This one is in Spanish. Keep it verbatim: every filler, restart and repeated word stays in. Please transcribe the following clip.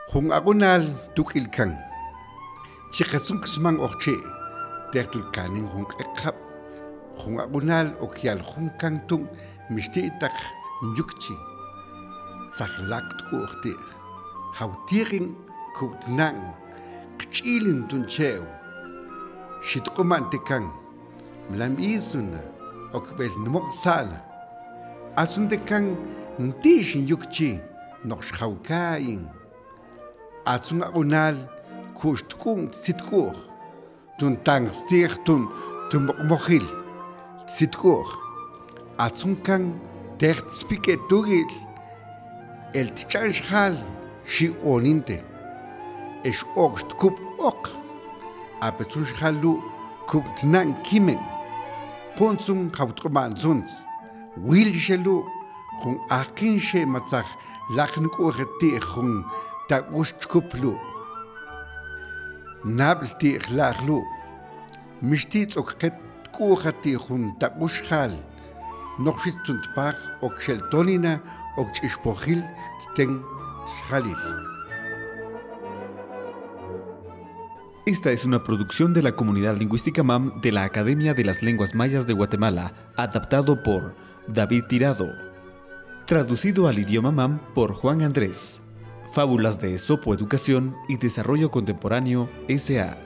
Jun agunal tukilkan. Chikasung kismang okche. Tertul kaning jun ekap. Jun agunal okyal jun kangtung mishti itak yukchi. Saklakt kuchtir. Hautiring kutnang. Kchilin tuncheo. Shitkuman tekang. Mlam izuna. Okbel numok sana. Asun tekang ntishin yukchi. Nokshaukain. Atsun agunal kushtkung sitkur. Tun tang stir tun tun mochil. Sitkur. Atsun kang tert spike tugil. El tichanshal shi oninte. Es okst kup ok. Apetsun shalu kup tnan kimen. Ponsun hautkoman zuns. Wil shelu. Kung akin she matzach lachen kucheti kung ta ushtkuplu. Nabl ti lachlu. Mishtits okket kucheti kung ta ushal. Nochshit tuntpach ok sheltonina ok chishpochil ten shalil. Esta es una producción de la comunidad lingüística M A M de la Academia de las Lenguas Mayas de Guatemala, adaptado por David Tirado. Traducido al idioma M A M por Juan Andrés. Fábulas de Esopo Educación y Desarrollo Contemporáneo S A